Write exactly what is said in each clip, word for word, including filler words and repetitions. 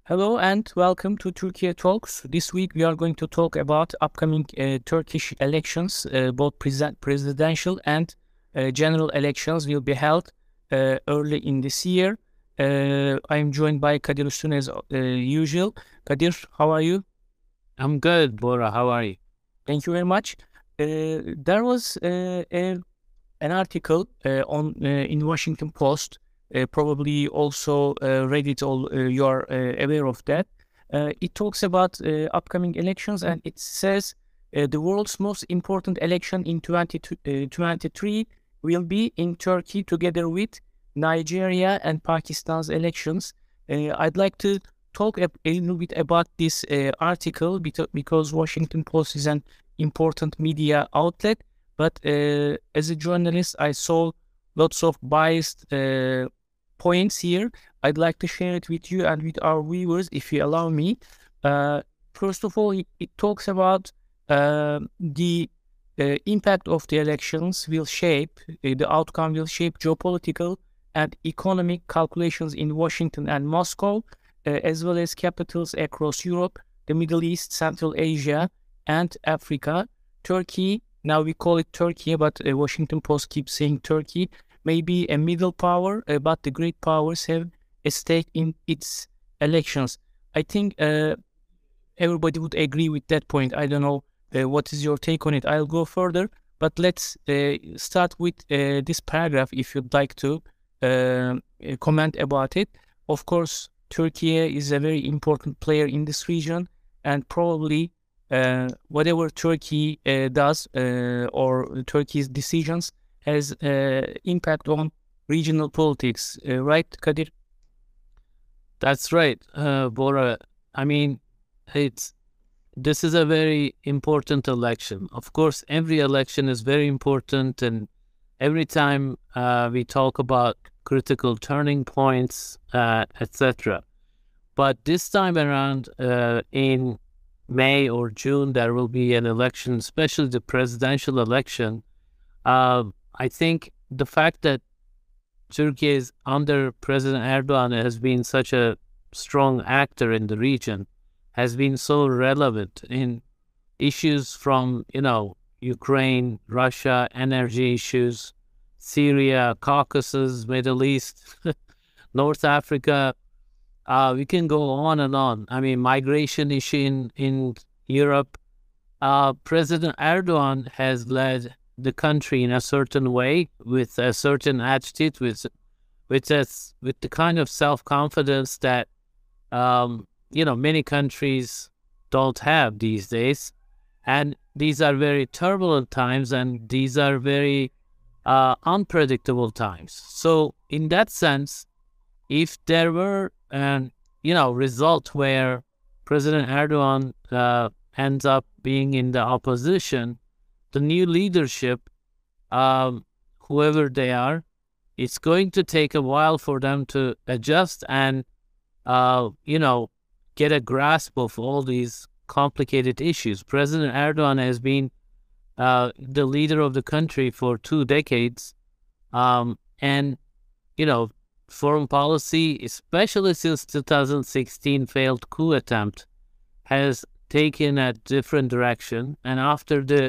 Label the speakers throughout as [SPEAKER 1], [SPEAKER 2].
[SPEAKER 1] Hello and welcome to Turkey Talks. This week we are going to talk about upcoming uh, Turkish elections. Uh, both pres- presidential and uh, general elections will be held uh, early in this year. Uh, I am joined by Kadir Üstün as uh, usual. Kadir, how are you?
[SPEAKER 2] I'm good, Bora. How are you?
[SPEAKER 1] Thank you very much. Uh, there was uh, a, an article uh, on uh, in Washington Post. Uh, probably also uh, read it. All uh, you are uh, aware of that. Uh, it talks about uh, upcoming elections, and it says uh, the world's most important election in twenty twenty-three will be in Turkey, together with Nigeria and Pakistan's elections. Uh, I'd like to talk a, a little bit about this uh, article beto- because Washington Post is an important media outlet. But uh, as a journalist, I saw lots of biased uh, points here. I'd like to share it with you and with our viewers, if you allow me. Uh, first of all, it, it talks about uh, the uh, impact of the elections will shape, uh, the outcome will shape geopolitical and economic calculations in Washington and Moscow, uh, as well as capitals across Europe, the Middle East, Central Asia, and Africa. Turkey, now we call it Turkey, but uh, Washington Post keeps saying Turkey, may be a middle power, uh, but the great powers have a stake in its elections. I think uh, everybody would agree with that point. I don't know uh, what is your take on it. I'll go further, but let's uh, start with uh, this paragraph if you'd like to uh, comment about it. Of course, Turkey is a very important player in this region, and probably uh, whatever Turkey uh, does uh, or Turkey's decisions has uh, impact on regional politics, uh, right, Kadir?
[SPEAKER 2] That's right, uh, Bora. I mean, it's this is a very important election. Of course, every election is very important, and every time uh, we talk about critical turning points, uh, et cetera. But this time around, uh, in May or June, there will be an election, especially the presidential election. Uh, I think the fact that Turkey is under President Erdogan has been such a strong actor in the region, has been so relevant in issues from, you know, Ukraine, Russia, energy issues, Syria, Caucasus, Middle East, North Africa. Uh, we can go on and on. I mean, migration issue in, in Europe. Uh, President Erdogan has led the country in a certain way, with a certain attitude, with with this, with the kind of self confidence that um, you know many countries don't have these days, and these are very turbulent times, and these are very uh, unpredictable times. So, in that sense, if there were an you know result where President Erdogan uh, ends up being in the opposition, the new leadership, um, whoever they are, it's going to take a while for them to adjust and, uh, you know, get a grasp of all these complicated issues. President Erdogan has been uh, the leader of the country for two decades, um, and, you know, foreign policy, especially since two thousand sixteen failed coup attempt, has taken a different direction. And after the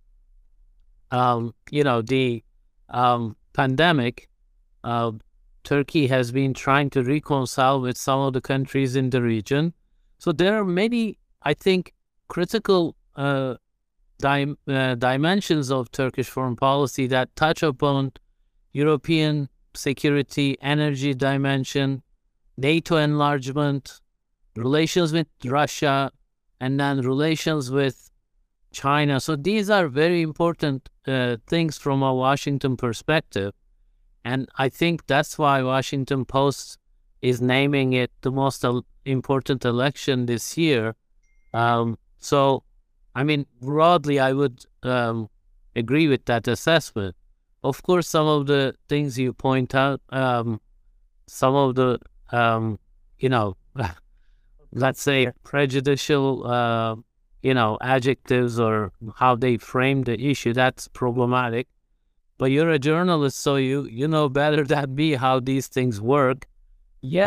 [SPEAKER 2] um, you know, the um, pandemic, uh, Turkey has been trying to reconcile with some of the countries in the region. So there are many, I think, critical uh, dim- uh, dimensions of Turkish foreign policy that touch upon European security, energy dimension, NATO enlargement, relations with Russia, and then relations with China. So these are very important uh, things from a Washington perspective. And I think that's why Washington Post is naming it the most el- important election this year. Um, so, I mean, broadly, I would um, agree with that assessment. Of course, some of the things you point out, um, some of the, um, you know, let's say prejudicial uh, you know, adjectives or how they frame the issue, that's problematic. But you're a journalist, so you you know better than me how these things work.
[SPEAKER 1] Yeah,
[SPEAKER 2] Uh,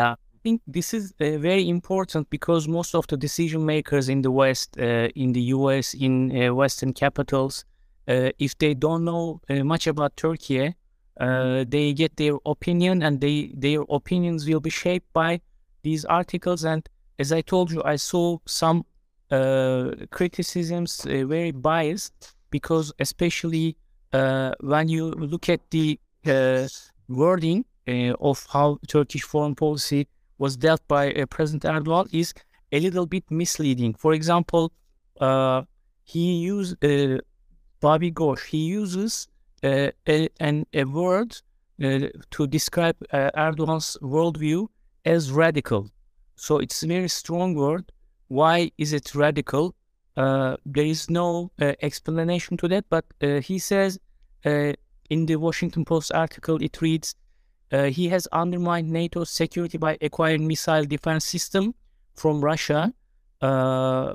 [SPEAKER 1] think this is uh, very important because most of the decision makers in the West, uh, in the U S, in uh, Western capitals, uh, if they don't know uh, much about Turkey, uh, they get their opinion, and they their opinions will be shaped by these articles. And as I told you, I saw some uh, criticisms uh, very biased, because especially uh, when you look at the uh, wording uh, of how Turkish foreign policy was dealt by uh, President Erdogan is a little bit misleading. For example, uh, he used uh, Bobby Ghosh. He uses uh, a, an, a word uh, to describe uh, Erdogan's worldview as radical. So it's a very strong word. Why is it radical? Uh, there is no uh, explanation to that, but uh, he says uh, in the Washington Post article, it reads, uh, he has undermined NATO's security by acquiring missile defense system from Russia, uh,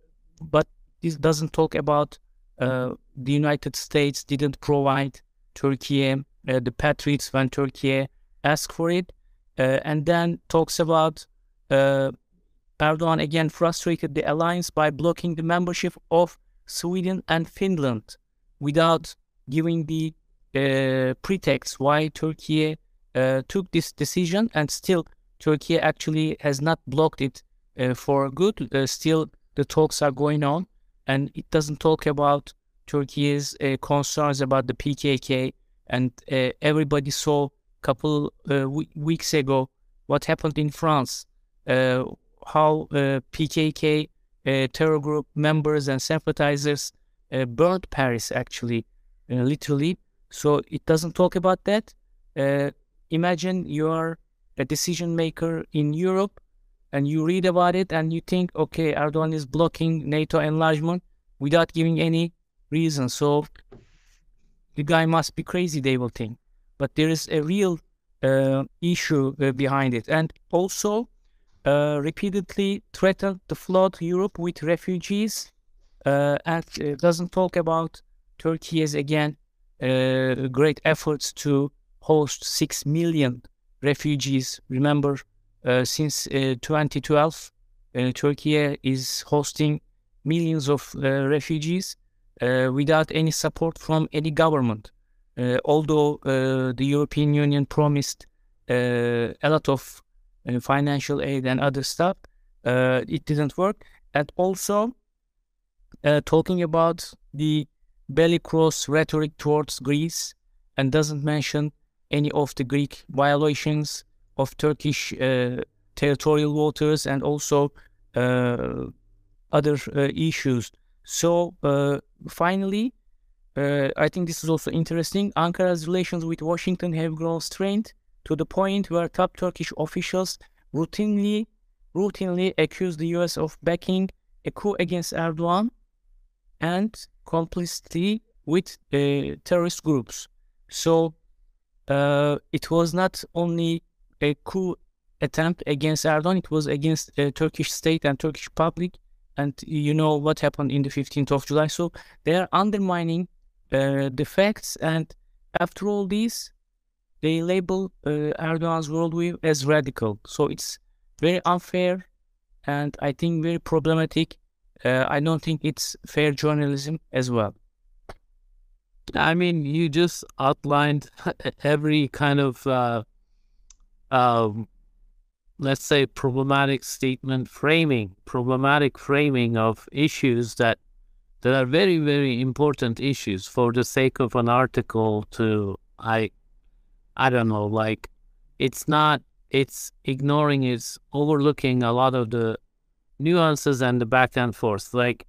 [SPEAKER 1] but this doesn't talk about uh, the United States didn't provide Turkey uh, the Patriots when Turkey asked for it, uh, and then talks about uh, Erdogan again frustrated the alliance by blocking the membership of Sweden and Finland without giving the uh, pretext why Turkey uh, took this decision, and still Turkey actually has not blocked it uh, for good. Uh, still the talks are going on, and it doesn't talk about Turkey's uh, concerns about the P K K, and uh, everybody saw a couple uh, weeks ago what happened in France, uh, how uh, P K K uh, terror group members and sympathizers uh, burned Paris, actually, uh, literally. So it doesn't talk about that. Uh, imagine you are a decision maker in Europe and you read about it and you think, okay, Erdogan is blocking NATO enlargement without giving any reason. So the guy must be crazy, they will think. But there is a real uh, issue uh, behind it. And also, Uh, repeatedly threatened to flood Europe with refugees, uh, and uh, doesn't talk about Turkey's, again, uh, great efforts to host six million refugees. Remember, uh, since uh, twenty twelve, uh, Turkey is hosting millions of uh, refugees uh, without any support from any government. Uh, although uh, the European Union promised uh, a lot of Uh, financial aid and other stuff, uh, it didn't work. And also uh, talking about the bellicose rhetoric towards Greece, and doesn't mention any of the Greek violations of Turkish uh, territorial waters, and also uh, other uh, issues. So uh, finally, uh, I think this is also interesting. Ankara's relations with Washington have grown strained to the point where top Turkish officials routinely, routinely accuse the U S of backing a coup against Erdogan and complicity with uh, terrorist groups. So uh, it was not only a coup attempt against Erdogan, it was against the uh, Turkish state and Turkish public. And you know what happened in the fifteenth of July. So they are undermining uh, the facts, and after all these, they label uh, Erdogan's worldview as radical. So it's very unfair, and I think very problematic. Uh, I don't think it's fair journalism as well.
[SPEAKER 2] I mean, you just outlined every kind of, uh, um, let's say, problematic statement framing, problematic framing of issues that that are very, very important issues for the sake of an article to, I I don't know, like, it's not, it's ignoring, it's overlooking a lot of the nuances and the back and forth. Like,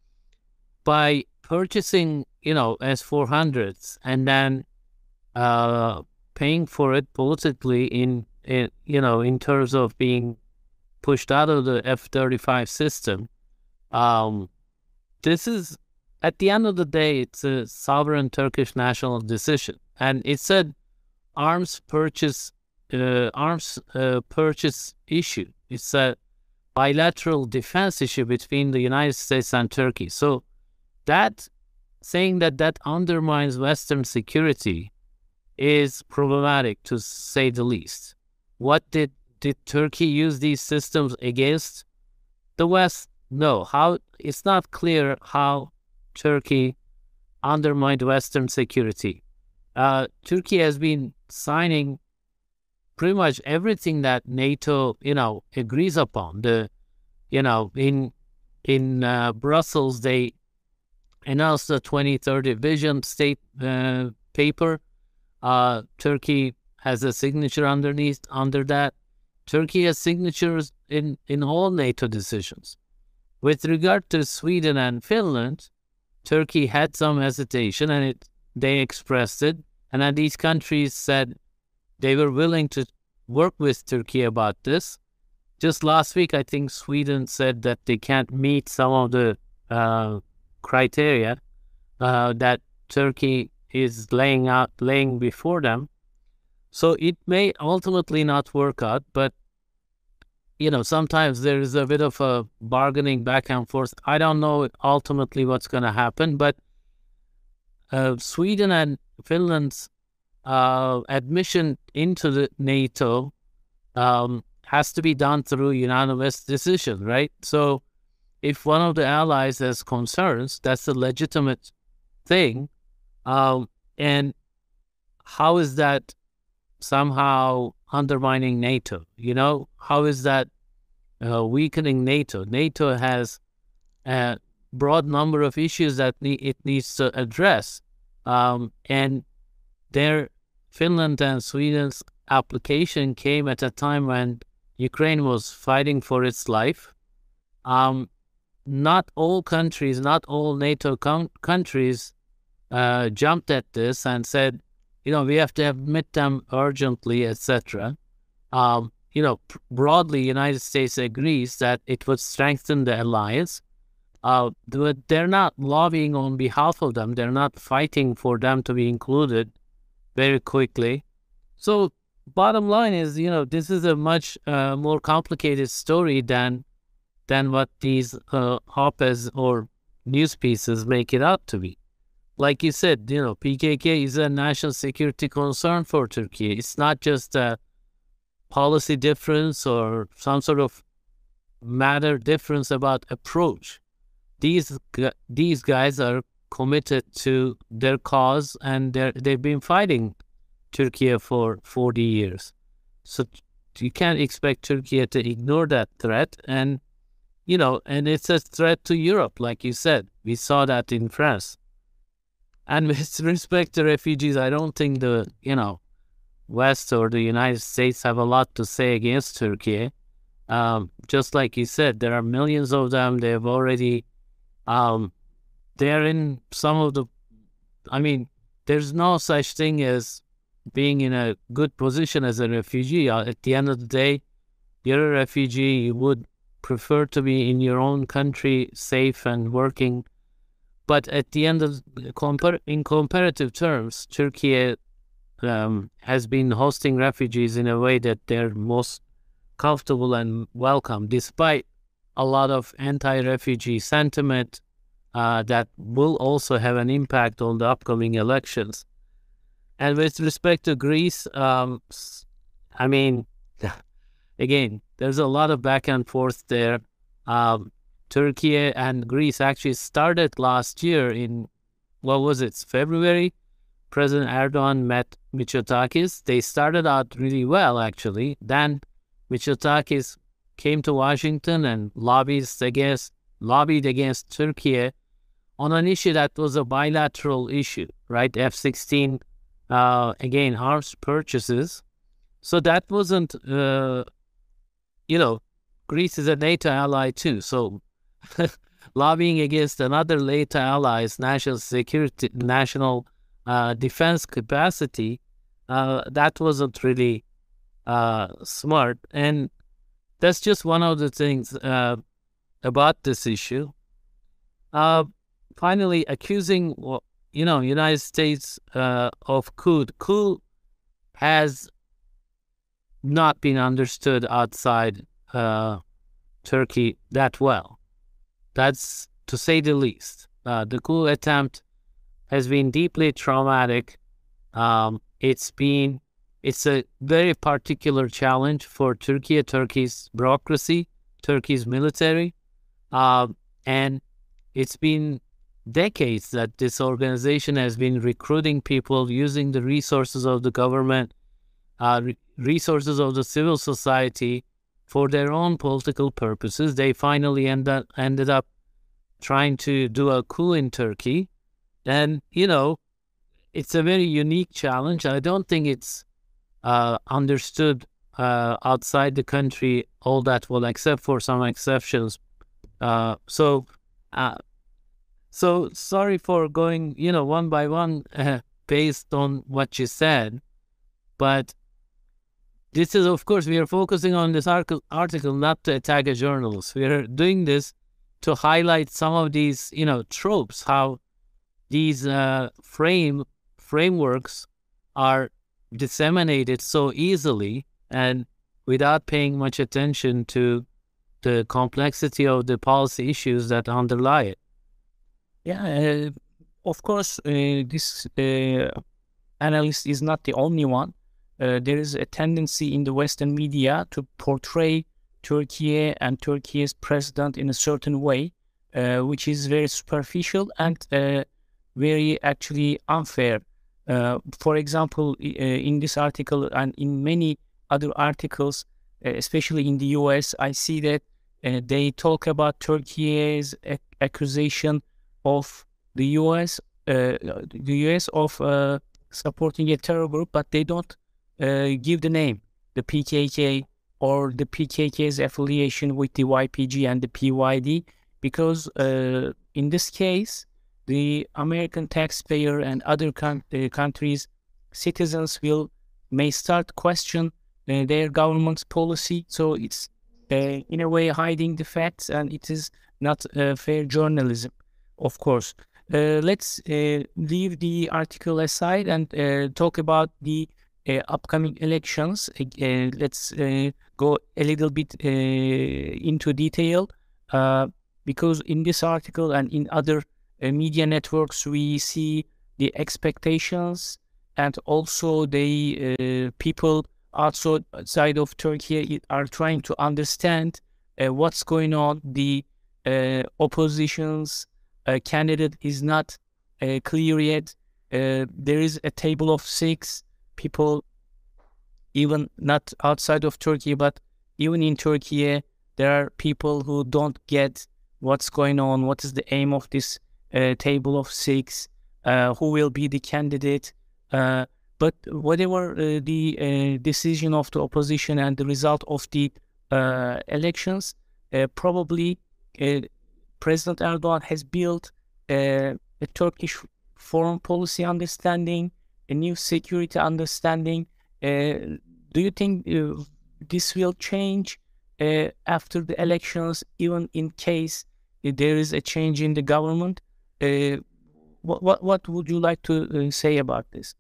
[SPEAKER 2] by purchasing, you know, S four hundreds and then uh, paying for it politically in, in, you know, in terms of being pushed out of the F thirty-five system, um, this is, at the end of the day, it's a sovereign Turkish national decision. And it said, arms purchase uh, arms uh, purchase issue. It's a bilateral defense issue between the United States and Turkey. So that, saying that that undermines Western security is problematic, to say the least. What did did Turkey use these systems against the West? No. How? It's not clear how Turkey undermined Western security. Uh, Turkey has been signing pretty much everything that NATO, you know, agrees upon. The, you know, in in uh, Brussels, they announced the twenty thirty vision state uh, paper. Uh, Turkey has a signature underneath under that. Turkey has signatures in, in all NATO decisions. With regard to Sweden and Finland, Turkey had some hesitation, and it they expressed it. And then these countries said they were willing to work with Turkey about this. Just last week, I think Sweden said that they can't meet some of the uh, criteria uh, that Turkey is laying out, laying before them. So it may ultimately not work out, but you know, sometimes there is a bit of a bargaining back and forth. I don't know ultimately what's going to happen, but uh, Sweden and Finland's uh, admission into the NATO um, has to be done through unanimous decision, right? So if one of the allies has concerns, that's a legitimate thing. Um, and how is that somehow undermining NATO? You know, how is that uh, weakening NATO? NATO has a broad number of issues that ne- it needs to address. Um, and their Finland and Sweden's application came at a time when Ukraine was fighting for its life. Um, not all countries, not all NATO com- countries uh, jumped at this and said, you know, we have to admit them urgently, et cetera. Um, you know, pr- broadly, United States agrees that it would strengthen the alliance. Uh, but they're not lobbying on behalf of them. They're not fighting for them to be included very quickly. So bottom line is, you know, this is a much uh, more complicated story than than what these uh, op-eds or news pieces make it out to be. Like you said, you know, P K K is a national security concern for Turkey. It's not just a policy difference or some sort of matter difference about approach. These these guys are committed to their cause, and they're, they've been fighting Turkey for forty years. So you can't expect Turkey to ignore that threat. And, you know, and it's a threat to Europe, like you said. We saw that in France. And with respect to refugees, I don't think the, you know, West or the United States have a lot to say against Turkey. Um, just like you said, there are millions of them. They've already, um, they're in some of the, I mean, there's no such thing as being in a good position as a refugee. Uh, at the end of the day, you're a refugee. You would prefer to be in your own country, safe and working. But at the end of, compar- in comparative terms, Turkey um, has been hosting refugees in a way that they're most comfortable and welcome, despite a lot of anti-refugee sentiment uh, that will also have an impact on the upcoming elections. And with respect to Greece, um, I mean, again, there's a lot of back and forth there. Um, Turkey and Greece actually started last year in, what was it, February? President Erdogan met Mitsotakis. They started out really well, actually. Then Mitsotakis came to Washington and lobbied against, lobbied against Turkey on an issue that was a bilateral issue, right? F sixteen, uh, again, arms purchases. So that wasn't, uh, you know, Greece is a NATO ally too. So lobbying against another NATO ally's national security, national uh, defense capacity, uh, that wasn't really uh, smart. And that's just one of the things uh, about this issue. Uh, finally, accusing, you know, United States uh, of coup. Coup has not been understood outside uh, Turkey that well. That's to say the least. Uh, the coup attempt has been deeply traumatic. Um, it's been It's a very particular challenge for Turkey, Turkey's bureaucracy, Turkey's military, uh, and it's been decades that this organization has been recruiting people using the resources of the government, uh, re- resources of the civil society for their own political purposes. They finally end up, ended up trying to do a coup in Turkey. And, you know, it's a very unique challenge. I don't think it's uh, understood uh, outside the country all that well, except for some exceptions. Uh, so, uh, so sorry for going, you know, one by one uh, based on what you said, but this is, of course, we are focusing on this article not to attack a journalist. We are doing this to highlight some of these, you know, tropes, how these uh, frame frameworks are disseminated so easily and without paying much attention to the complexity of the policy issues that underlie it.
[SPEAKER 1] Yeah, uh, of course, uh, this uh, analyst is not the only one. Uh, there is a tendency in the Western media to portray Turkey and Turkey's president in a certain way, uh, which is very superficial and uh, very actually unfair. Uh, for example, uh, in this article and in many other articles, uh, especially in the U S, I see that uh, they talk about Turkey's ac- accusation of the U S, uh, the U S of uh, supporting a terror group, but they don't uh, give the name, the P K K or the P K K's affiliation with the Y P G and the P Y D, because uh, in this case, the American taxpayer and other con- uh, countries' citizens will may start question uh, their government's policy. So it's uh, in a way hiding the facts, and it is not uh, fair journalism, of course. Uh, let's uh, leave the article aside and uh, talk about the uh, upcoming elections. Uh, let's uh, go a little bit uh, into detail, uh, because in this article and in other uh, media networks, we see the expectations and also the uh, people outside of Turkey are trying to understand uh, what's going on. The uh, opposition's uh, candidate is not uh, clear yet. Uh, there is a table of six people, even not outside of Turkey, but even in Turkey, there are people who don't get what's going on, what is the aim of this uh, table of six, uh, who will be the candidate. Uh, but whatever uh, the uh, decision of the opposition and the result of the uh, elections, uh, probably uh, President Erdogan has built uh, a Turkish foreign policy understanding, a new security understanding. Uh, do you think uh, this will change uh, after the elections, even in case uh, there is a change in the government? Uh, what, what what would you like to uh, say about this?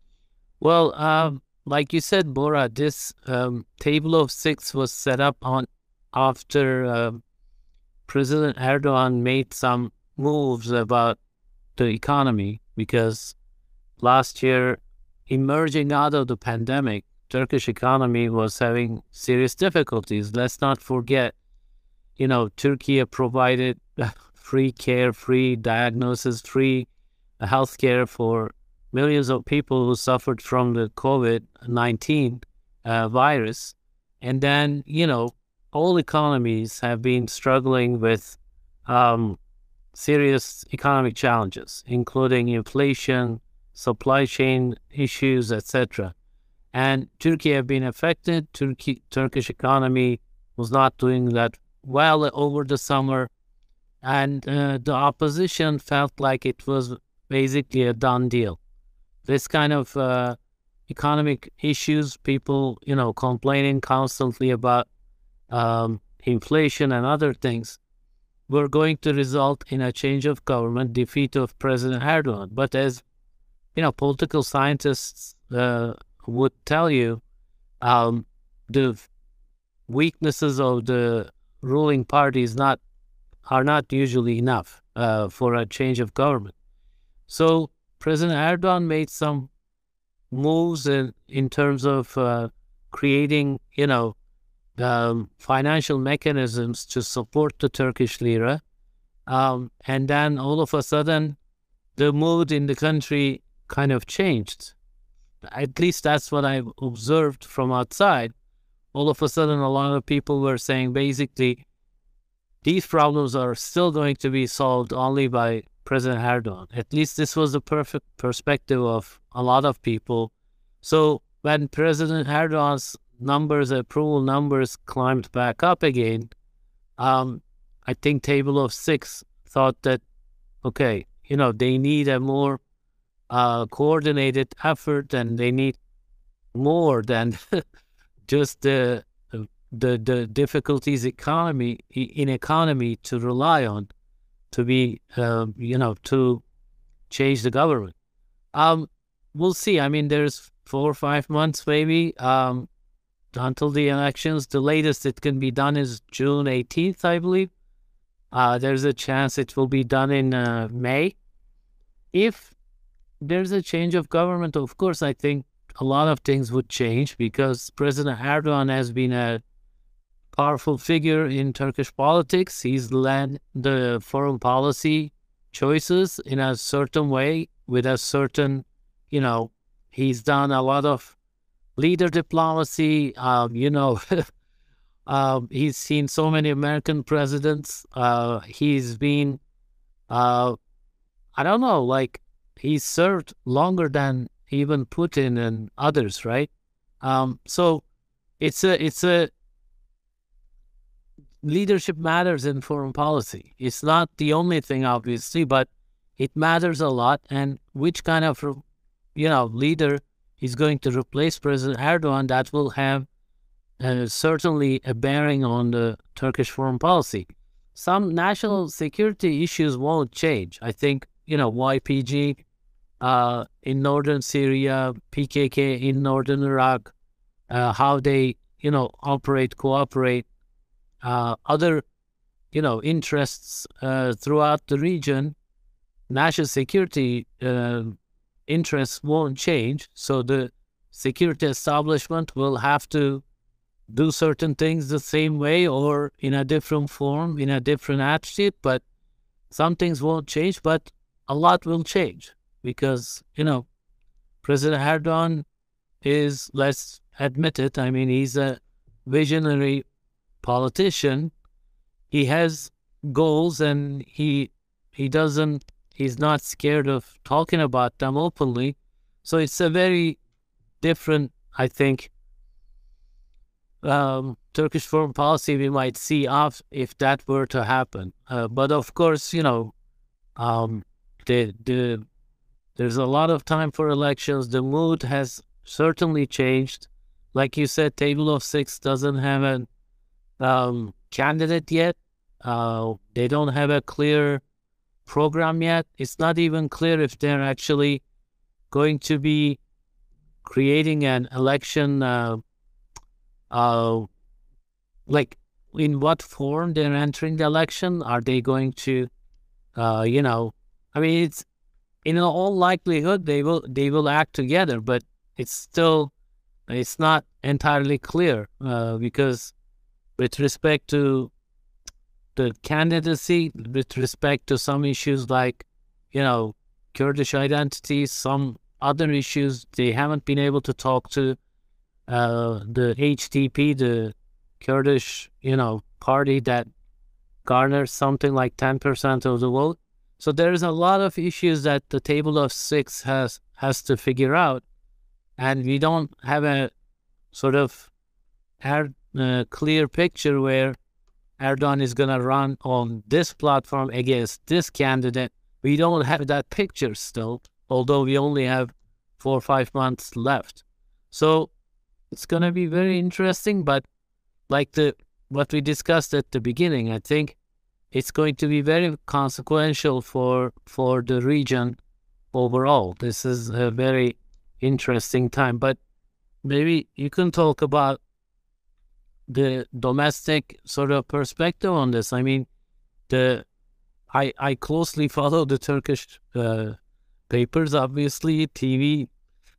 [SPEAKER 2] Well, um, like you said, Bora, this um, table of six was set up on after uh, President Erdogan made some moves about the economy, because last year, emerging out of the pandemic, Turkish economy was having serious difficulties. Let's not forget, you know, Turkey provided free care, free diagnosis, free healthcare for millions of people who suffered from the COVID nineteen uh, virus. And then, you know, all economies have been struggling with um, serious economic challenges, including inflation, supply chain issues, et cetera. And Turkey have been affected. Turkey, Turkish economy was not doing that well over the summer. And uh, the opposition felt like it was basically a done deal. This kind of uh, economic issues, people, you know, complaining constantly about um, inflation and other things, were going to result in a change of government, defeat of President Erdogan. But as, you know, political scientists uh, would tell you, um, the weaknesses of the ruling party is not are not usually enough uh, for a change of government. So President Erdogan made some moves in, in terms of uh, creating, you know, um, financial mechanisms to support the Turkish lira. Um, and then all of a sudden, the mood in the country kind of changed. At least that's what I observed from outside. All of a sudden, a lot of people were saying basically, these problems are still going to be solved only by President Erdogan. At least this was the perfect perspective of a lot of people. So when President Erdogan's numbers, approval numbers climbed back up again, um, I think Table of Six thought that, okay, you know, they need a more uh, coordinated effort, and they need more than just the the the difficulties economy in economy to rely on to be uh, you know to change the government. Um, we'll see. I mean, there's four or five months maybe um, until the elections. The latest it can be done is June eighteenth, I believe. Uh, there's a chance it will be done in uh, May. If there's a change of government, of course, I think a lot of things would change, because President Erdogan has been a powerful figure in Turkish politics. He's led the foreign policy choices in a certain way, with a certain, you know, he's done a lot of leader diplomacy. Um, you know, um, he's seen so many American presidents. Uh, he's been, uh, I don't know, like he's served longer than even Putin and others, right? Um, so it's a, it's a, leadership matters in foreign policy. It's not the only thing, obviously, but it matters a lot. And which kind of, you know, leader is going to replace President Erdogan, that will have uh, certainly a bearing on the Turkish foreign policy. Some national security issues won't change. I think, you know, Y P G uh, in northern Syria, P K K in northern Iraq, uh, how they, you know, operate, cooperate, Uh, other, you know, interests uh, throughout the region, national security uh, interests won't change. So the security establishment will have to do certain things the same way or in a different form, in a different attitude, but some things won't change, but a lot will change because, you know, President Erdogan is, let's admit it, I mean, he's a visionary politician. He has goals, and he he doesn't he's not scared of talking about them openly. So it's a very different, I think, um, Turkish foreign policy we might see off if that were to happen. Uh, but of course, you know, um, the the there's a lot of time for elections. The mood has certainly changed. Like you said, Table of Six doesn't have an Um, candidate yet. Uh, they don't have a clear program yet. It's not even clear if they're actually going to be creating an election, uh, uh, like in what form they're entering the election. Are they going to, uh, you know, I mean, it's in all likelihood they will they will act together, but it's still it's not entirely clear uh, because. With respect to the candidacy, with respect to some issues like, you know, Kurdish identity, some other issues, they haven't been able to talk to uh, the H D P, the Kurdish, you know, party that garners something like ten percent of the vote. So there's a lot of issues that the Table of Six has, has to figure out. And we don't have a sort of a clear picture where Erdogan is going to run on this platform against this candidate. We don't have that picture still, although we only have four or five months left. So it's going to be very interesting, but like the what we discussed at the beginning, I think it's going to be very consequential for for the region overall. This is a very interesting time, but maybe you can talk about the domestic sort of perspective on this. I mean, the I I closely follow the Turkish uh, papers, obviously, T V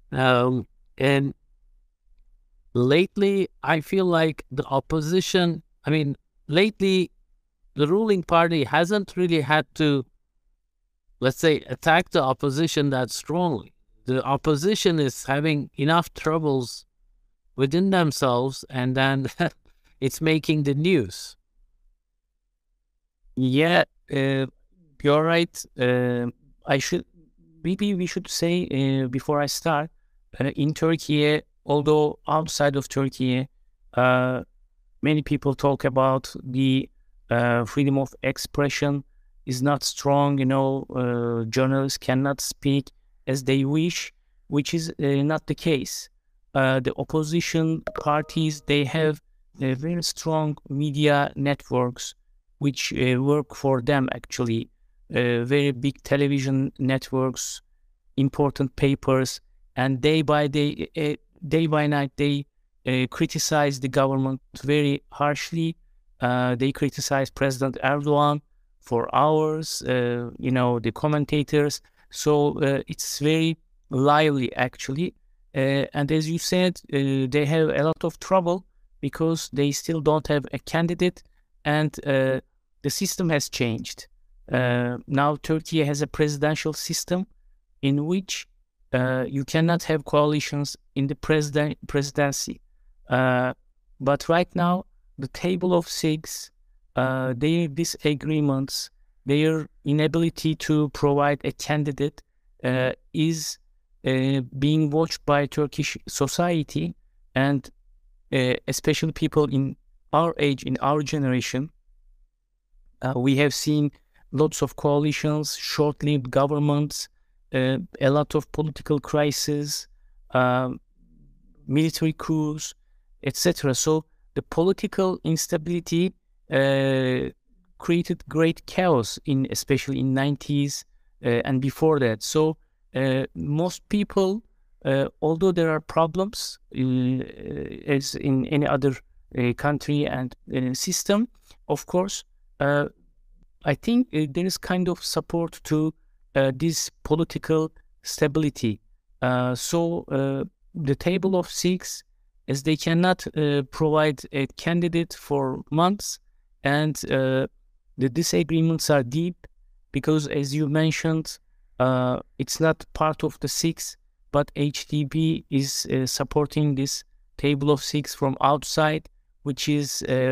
[SPEAKER 2] Um, and lately, I feel like the opposition, I mean, lately, the ruling party hasn't really had to, let's say, attack the opposition that strongly. The opposition is having enough troubles within themselves, and then it's making the news.
[SPEAKER 1] Yeah, uh, you're right. Uh, I should maybe we should say uh, before I start, uh, in Turkey, although outside of Turkey, uh, many people talk about the uh, freedom of expression is not strong. You know, uh, journalists cannot speak as they wish, which is uh, not the case. Uh, the opposition parties, they have uh, very strong media networks which uh, work for them actually. Uh, very big television networks, important papers, and day by day, uh, day by night, they uh, criticize the government very harshly. Uh, they criticize President Erdogan for hours. Uh, you know, the commentators. So uh, it's very lively actually. Uh, and as you said, uh, they have a lot of trouble because they still don't have a candidate, and uh, the system has changed. Uh, now Turkey has a presidential system in which uh, you cannot have coalitions in the president presidency. Uh, but right now, the table of six, uh, their disagreements, their inability to provide a candidate uh, is uh, being watched by Turkish society, and uh, especially people in our age, in our generation. Uh, we have seen lots of coalitions, short-lived governments, uh, a lot of political crises, um, military coups, et cetera. So the political instability uh, created great chaos in, especially in nineties uh, and before that. So uh, most people, uh, although there are problems uh, as in any other uh, country and uh, system, of course, uh, I think uh, there is kind of support to uh, this political stability. Uh, so uh, the table of six, as they cannot uh, provide a candidate for months, and uh, the disagreements are deep because, as you mentioned, uh, it's not part of the six, but H D P is uh, supporting this table of six from outside, which is uh,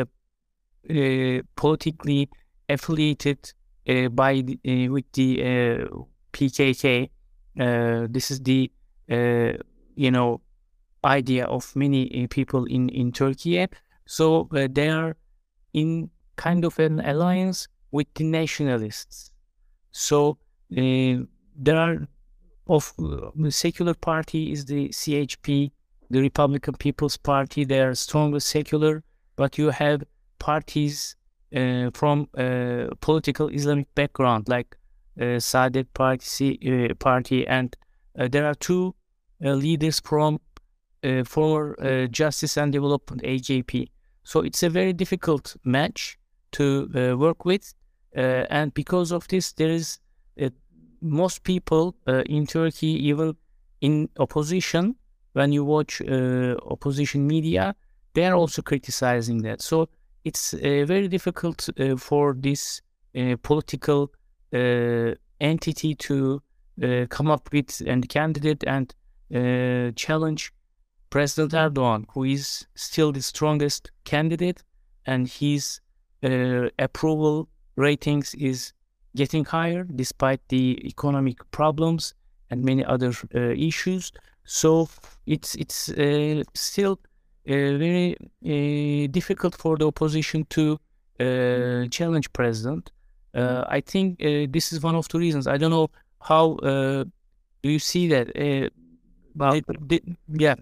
[SPEAKER 1] uh, politically affiliated uh, by the, uh, with the uh, P K K. Uh, this is the uh, you know idea of many uh, people in in Turkey. So uh, they are in kind of an alliance with the nationalists. So uh, there are of uh, the secular party is the C H P, the Republican People's Party. They are strongly secular, but you have parties uh, from uh, political Islamic background, like uh, Saadet Party, uh, party, and uh, there are two uh, leaders from uh, former uh, Justice and Development A J P. So it's a very difficult match to uh, work with, uh, and because of this, there is uh, most people uh, in Turkey, even in opposition, when you watch uh, opposition media, they are also criticizing that. So it's uh, very difficult uh, for this uh, political uh, entity to uh, come up with a candidate and uh, challenge President Erdogan, who is still the strongest candidate, and his uh, approval ratings is getting higher despite the economic problems and many other uh, issues. So it's it's uh, still uh, very uh, difficult for the opposition to uh, challenge president. Uh, I think uh, this is one of the reasons. I don't know how uh, do you see that? Uh,
[SPEAKER 2] Well,
[SPEAKER 1] it- it- yeah.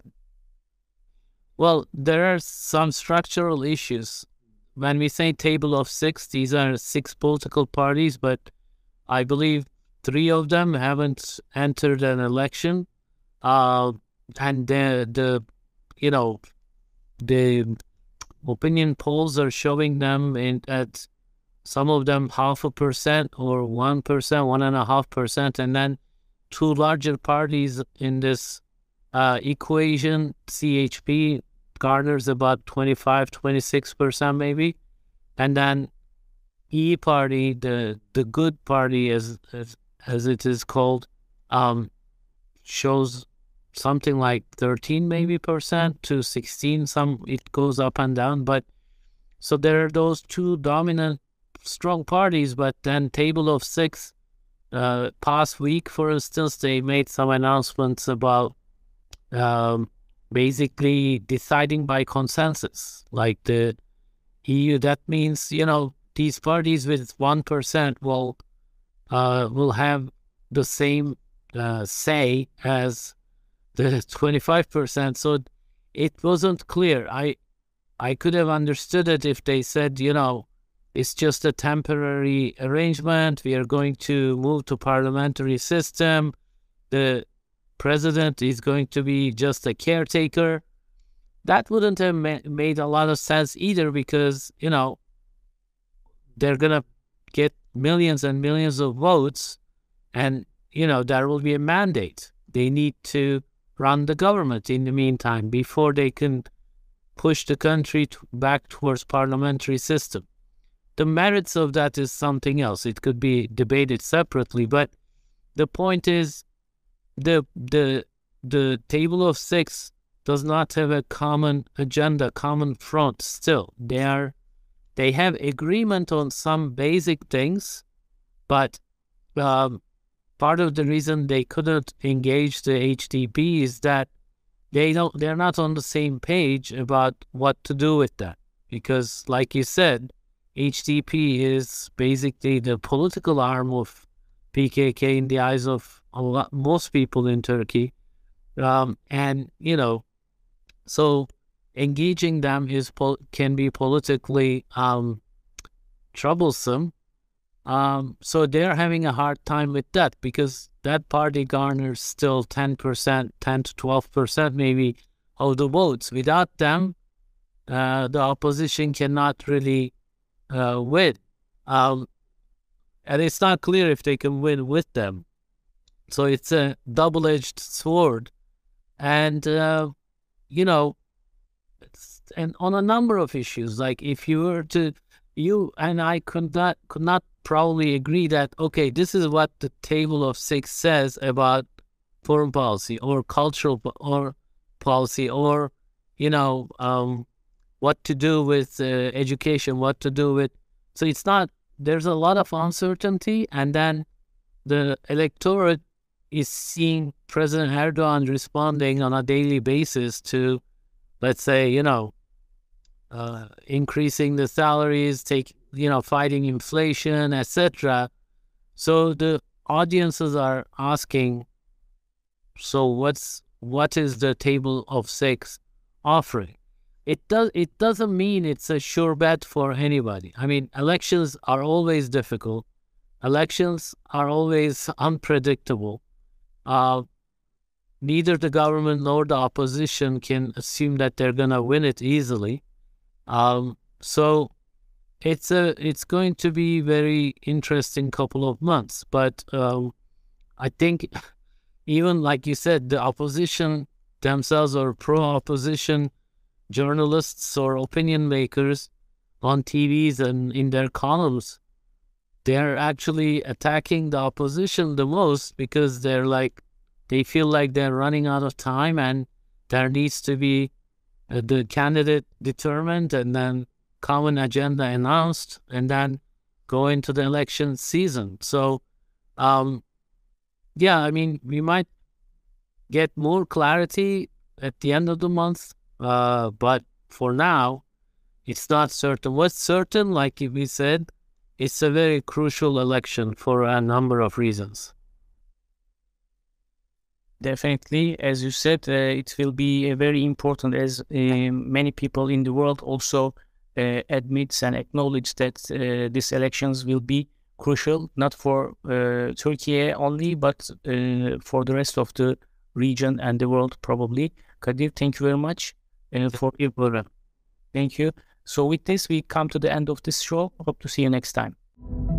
[SPEAKER 2] well, there are some structural issues. When we say table of six, these are six political parties, but I believe three of them haven't entered an election. Uh, and the, the, you know, the opinion polls are showing them in at some of them half a percent or one percent, one and a half percent, and then two larger parties in this uh, equation, C H P garners about twenty-five, twenty-six percent maybe. And then E party, the the good party as as, as it is called, um, shows something like thirteen maybe percent to sixteen. Some it goes up and down, but so there are those two dominant strong parties. But then table of six, uh, past week, for instance, they made some announcements about um, basically deciding by consensus, like the E U. That means, you know, these parties with one percent will uh, will have the same uh, say as the twenty-five percent. So it wasn't clear. I I could have understood it if they said, you know, it's just a temporary arrangement. We are going to move to parliamentary system. The president is going to be just a caretaker. That wouldn't have ma made a lot of sense either, because, you know, they're going to get millions and millions of votes, and, you know, there will be a mandate. They need to run the government in the meantime before they can push the country to back towards parliamentary system. The merits of that is something else. It could be debated separately, but the point is the the the table of six does not have a common agenda, common front still. They are they have agreement on some basic things, but um, part of the reason they couldn't engage the H D P is that they don't they're not on the same page about what to do with that. Because, like you said, H D P is basically the political arm of P K K in the eyes of a lot, most people in Turkey. Um, and, you know, so engaging them is can be politically um, troublesome. Um, so they're having a hard time with that, because that party garners still ten percent, ten to twelve percent maybe of the votes. Without them, uh, the opposition cannot really uh, win. Um, and it's not clear if they can win with them. So it's a double-edged sword. And, uh, you know, it's, and on a number of issues, like if you were to, you and I could not, could not probably agree that, okay, this is what the table of six says about foreign policy or cultural or policy, or, you know, um, what to do with uh, education, what to do with, so it's not, there's a lot of uncertainty, and then the electorate is seeing President Erdogan responding on a daily basis to, let's say, you know, uh, increasing the salaries, take, you know, fighting inflation, et cetera. So the audiences are asking, so what's what is the table of six offering? It does it doesn't mean it's a sure bet for anybody. I mean, elections are always difficult. Elections are always unpredictable. Uh, neither the government nor the opposition can assume that they're gonna win it easily. Um, so it's a it's going to be very interesting couple of months. But um, I think even like you said, the opposition themselves, or pro-opposition journalists or opinion makers on T Vs and in their columns, they're actually attacking the opposition the most, because they're like, they feel like they're running out of time, and there needs to be uh, the candidate determined, and then common agenda announced, and then go into the election season. So, um, yeah, I mean, we might get more clarity at the end of the month, uh, but for now, it's not certain. What's certain, like we said, it's a very crucial election for a number of reasons.
[SPEAKER 1] Definitely, as you said, uh, it will be uh, very important, as uh, many people in the world also uh, admits and acknowledge that uh, these elections will be crucial, not for uh, Turkey only, but uh, for the rest of the region and the world probably. Kadir, thank you very much uh, for your program. Thank you. So with this, we come to the end of this show. Hope to see you next time.